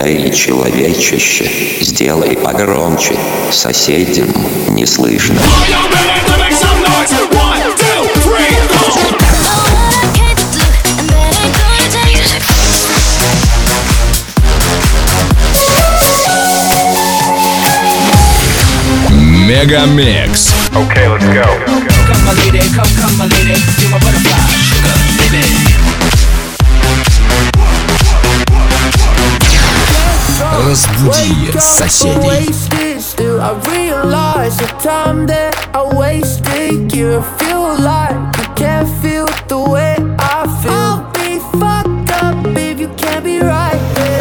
Эй, человечище, сделай погромче, соседям не слышно. Мегамикс. Okay, let's go. Come my lady, come my lady, you're my butterfly, sugar, baby. Разбуди соседей. Still I realize the time that I wasted. You feel like you can't feel the way I feel. I'll be fucked up if you can't be right there.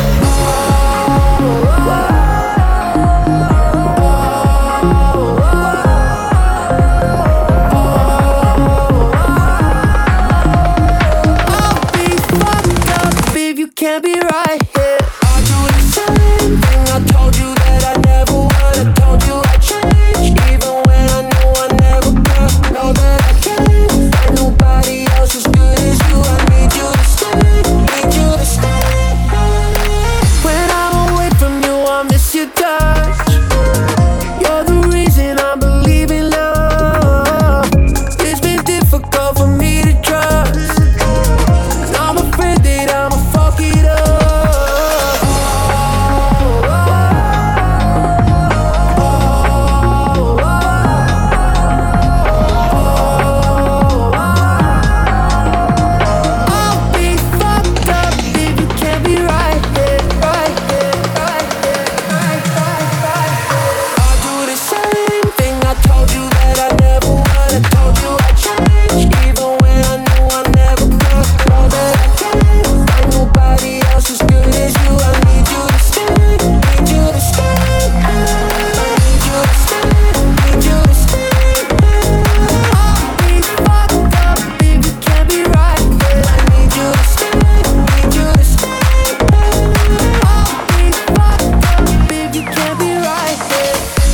Can't be right here. I do the same thing. I told you that I never would. I told you I'd change, even when I knew I never could. Know that I can't find nobody else as good as you. I need you to stay, need you to stay. When I'm away from you, I miss your touch. You're the reason I believe in love. It's been difficult for me to trust. I'm afraid that I'ma fuck it up. I'll be fucked up if you can't be right here, right here, right here, right here. I'll do the same thing. I told you that I never would. I told you I'd change, even when I knew I never could. Know that I can't find nobody else as good as you. I need you to stay, need you to stay. Need you to stay, need you to stay. I'll be fucked up if you can't be right here. I need you to stay, need you to stay. I'll be fucked up if you can't be right here.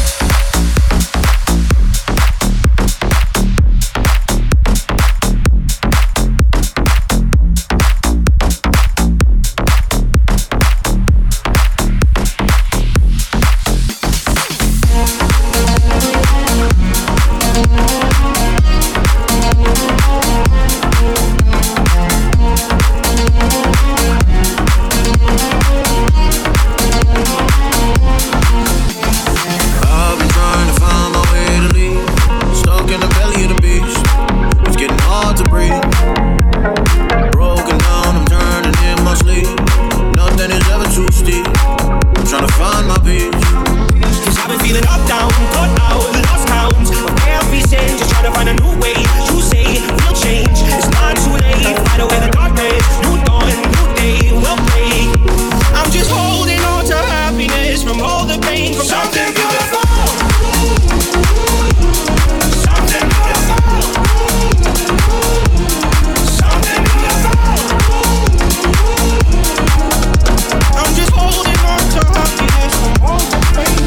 I've been trying to find my way to leave. Stuck in the belly of the beast. It's getting hard to breathe. Broken down, I'm turning in my sleep. Nothing is ever too steep. I'm trying to find my peace. Cause I've been feeling up, down, cut out, lost count of every sin, just trying to find a new way. You say we'll change, it's not too late. Fight away the darkness, new dawn, new day, we'll break. I'm just holding on to happiness from all the pain, from something beautiful. Something beautiful. Something beautiful. I'm just holding on to happiness from all the pain.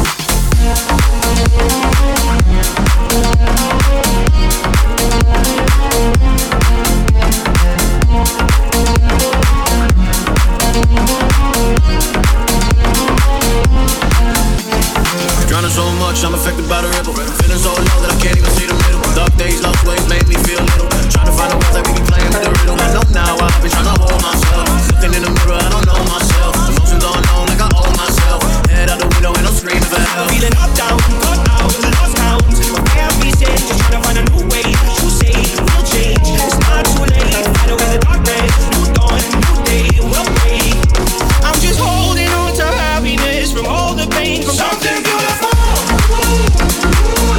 Drowning so much, I'm affected by the ripple. Feeling so low that I can't even see the middle. Dark days, lost waves made me feel little. Trying to find a way that we can play with the riddle. I know now I've been trying to hold myself. Looking in the mirror, I don't know myself. Emotions unknown, like I owe myself. Head out the window and I'm screaming for help. Feeling up, down, cut out, lost count of every sin, just trying to find a new way. You say we'll change, it's not too late. Fight away the darkness, new dawn, new day, we'll break. I'm just holding on to happiness from all the pain, from something beautiful.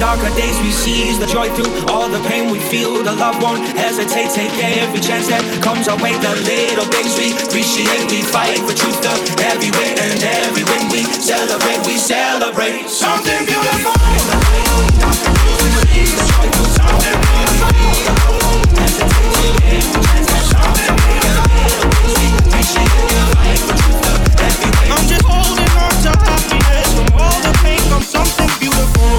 darker days we seize the joy through all the pain we feel. The love won't hesitate, take every chance that comes our way. The little things we appreciate, we fight for truth. The every win and every win we celebrate something beautiful. I'm just holding on to happiness. From all the pain comes something beautiful.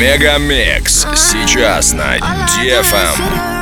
Мегамикс сейчас на DFM.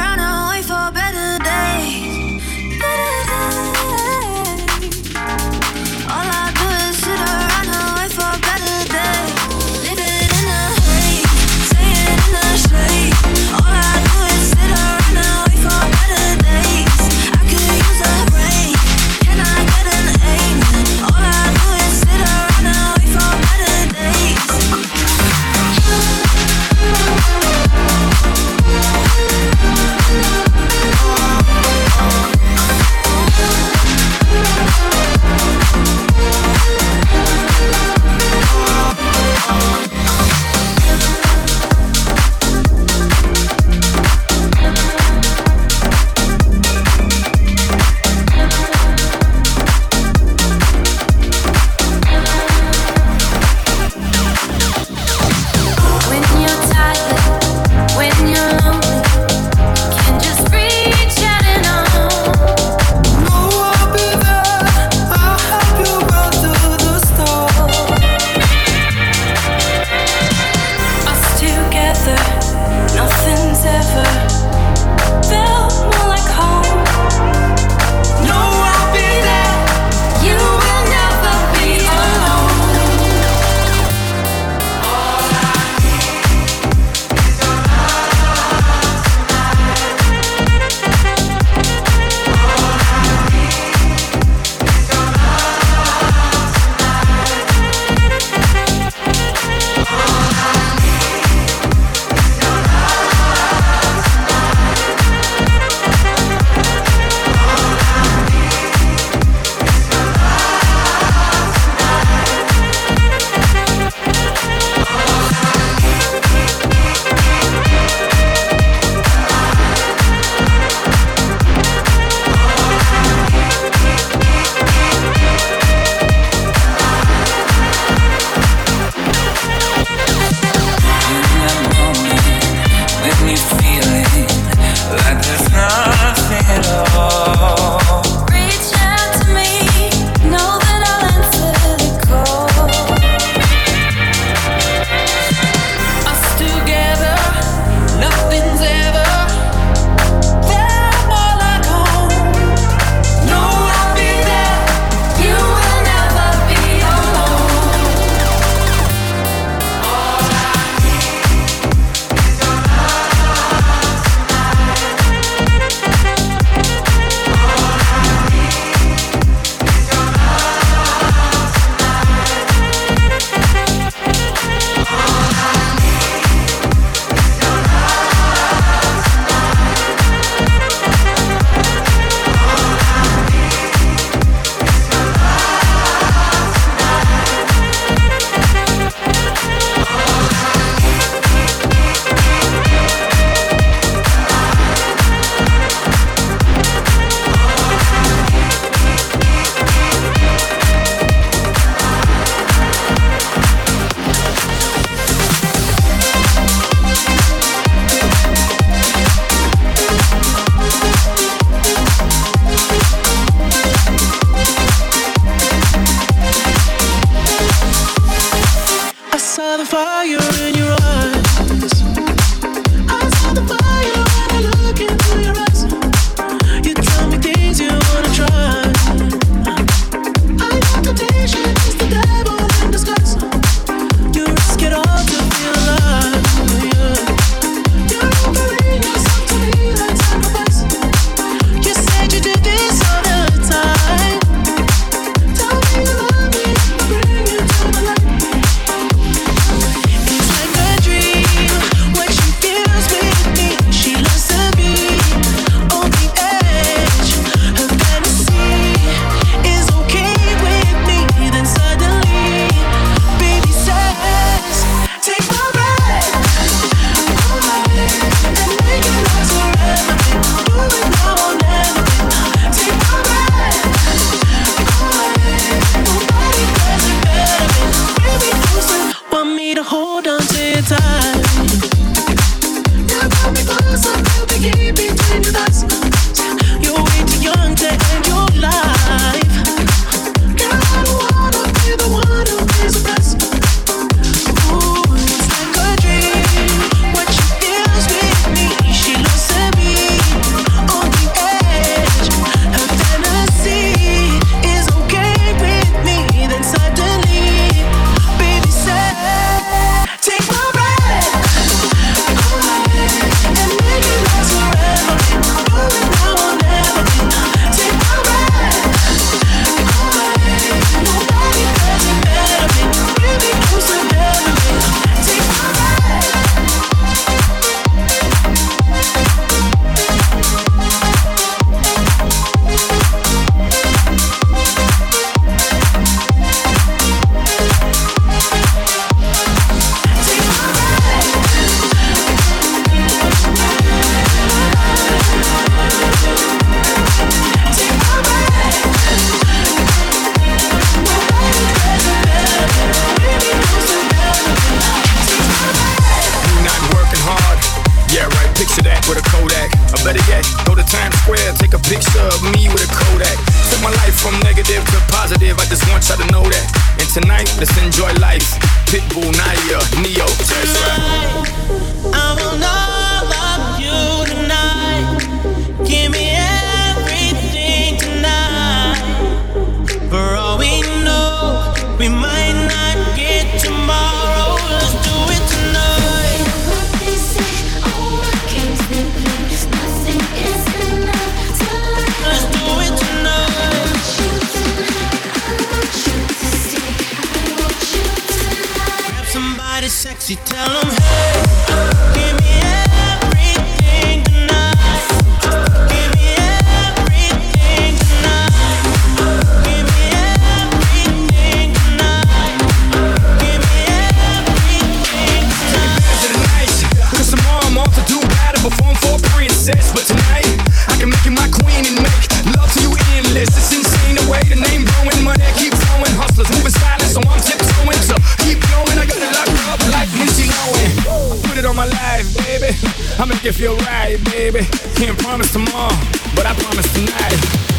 Cardiac. Go to Times Square, take a picture of me with a Kodak. Took my life from negative to positive, I just want y'all to know that. And tonight, let's enjoy life. Pitbull, Nadia, Neo, that's right. I will know love you tonight. Give me everything tonight. For all we know, we might not get tomorrow. Let's do it tonight. They say, oh, I can't sleep, there's nothing is enough tonight. Let's do it tonight. I want you to stay, I want you tonight. Grab somebody sexy, tell them, hey, give me everything tonight. Give me everything tonight. Give me everything tonight. Give me everything tonight. Cause tomorrow I'm off to do battle, perform for a princess. But tonight, I can make you my queen and make love to you endless. It's insane the way the name growing, money keep flowing. Hustlers moving silent, so I'm tiptoeing. So keep going, I gotta lock her up like Lindsay Lohan. Put it on my life, baby. I'll make it feel right, baby. Can't promise tomorrow, but I promise tonight.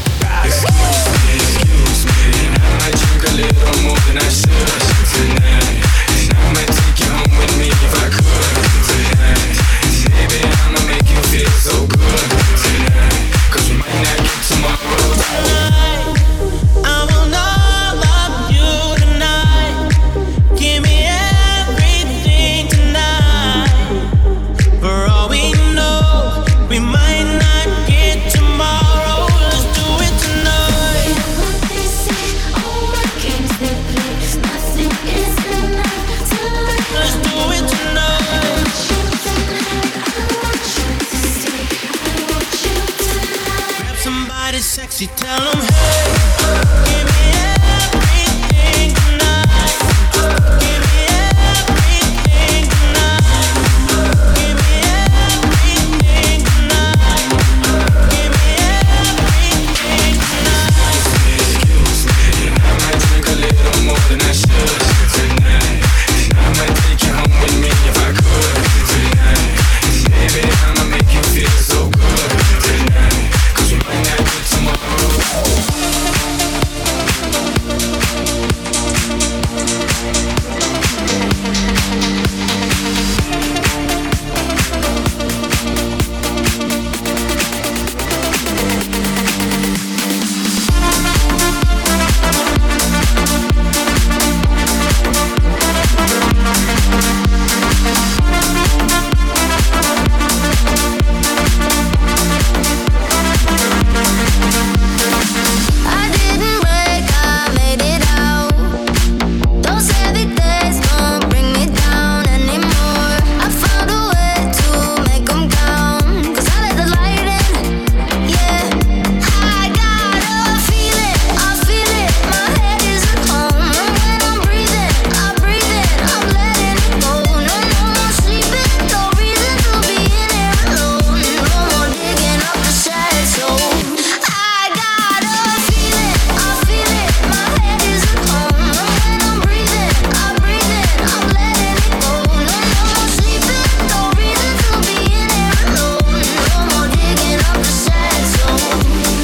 Excuse me, and I might drink a little more than I should tonight. And I might take you home with me if I could tonight. Baby, I'ma make you feel so good tonight. Cause we might not get tomorrow. I will not love you tonight. Give me everything tonight. For all we know, we might not get tomorrow. Let's do it tonight. They say, oh, I can't sleep, there's nothing is enough tonight. Let's do it tonight. I want you to stay, I want you tonight. Grab somebody sexy, tell them, hey, give me everything tonight. Give me everything tonight. Give me everything tonight. Give me everything tonight. Excuse me, and I might drink a little more than I should tonight. And I might take you home with me if I could tonight. And baby, I'ma make you feel so good tonight. Cause we might not get tomorrow. I didn't break, I made it out. Those heavy days don't bring me down anymore. I found a way to make them count. Cause I let the light in, yeah. I got a feeling, I feel it. My head is at home. And when I'm breathing, I breathe it. I'm letting it go. No more sleeping, no reason to be in here alone. No more digging up the sad soul. I got a feeling, I feel it. My head is at home. And when I'm breathing, I breathe it. I'm letting it go. No more sleeping, no reason to be in here alone. No more digging up the sad soul.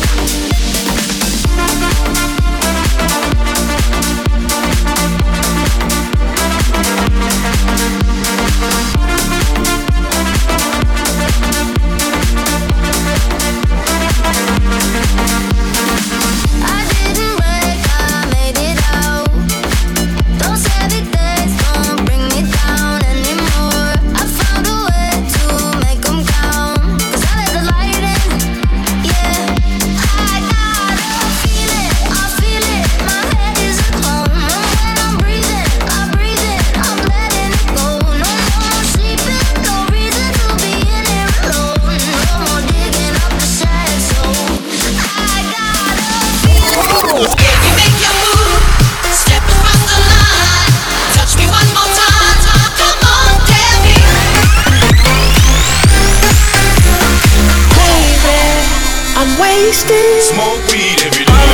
I didn't break, I made it out. Those heavy days don't bring me down anymore. I found a way to make them count. Cause I let the light in, yeah. I got a feeling, I feel it. My head is at home. And when I'm breathing, I breathe it. I'm letting it go. No more sleeping, no reason to be in here alone. No more digging up the sad soul. I got a feeling. If you make your move, step across the line. Touch me one more time. Come on, Debbie. Baby, I'm wasted. Smoke weed every day.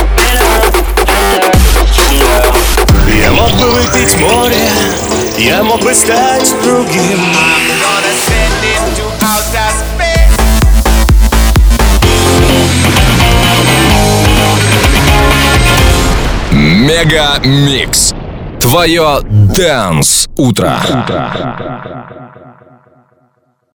Я мог бы выпить море, я мог бы стать другим. I'm gonna send it to outer space. Мега Микс. Твое Dance утро.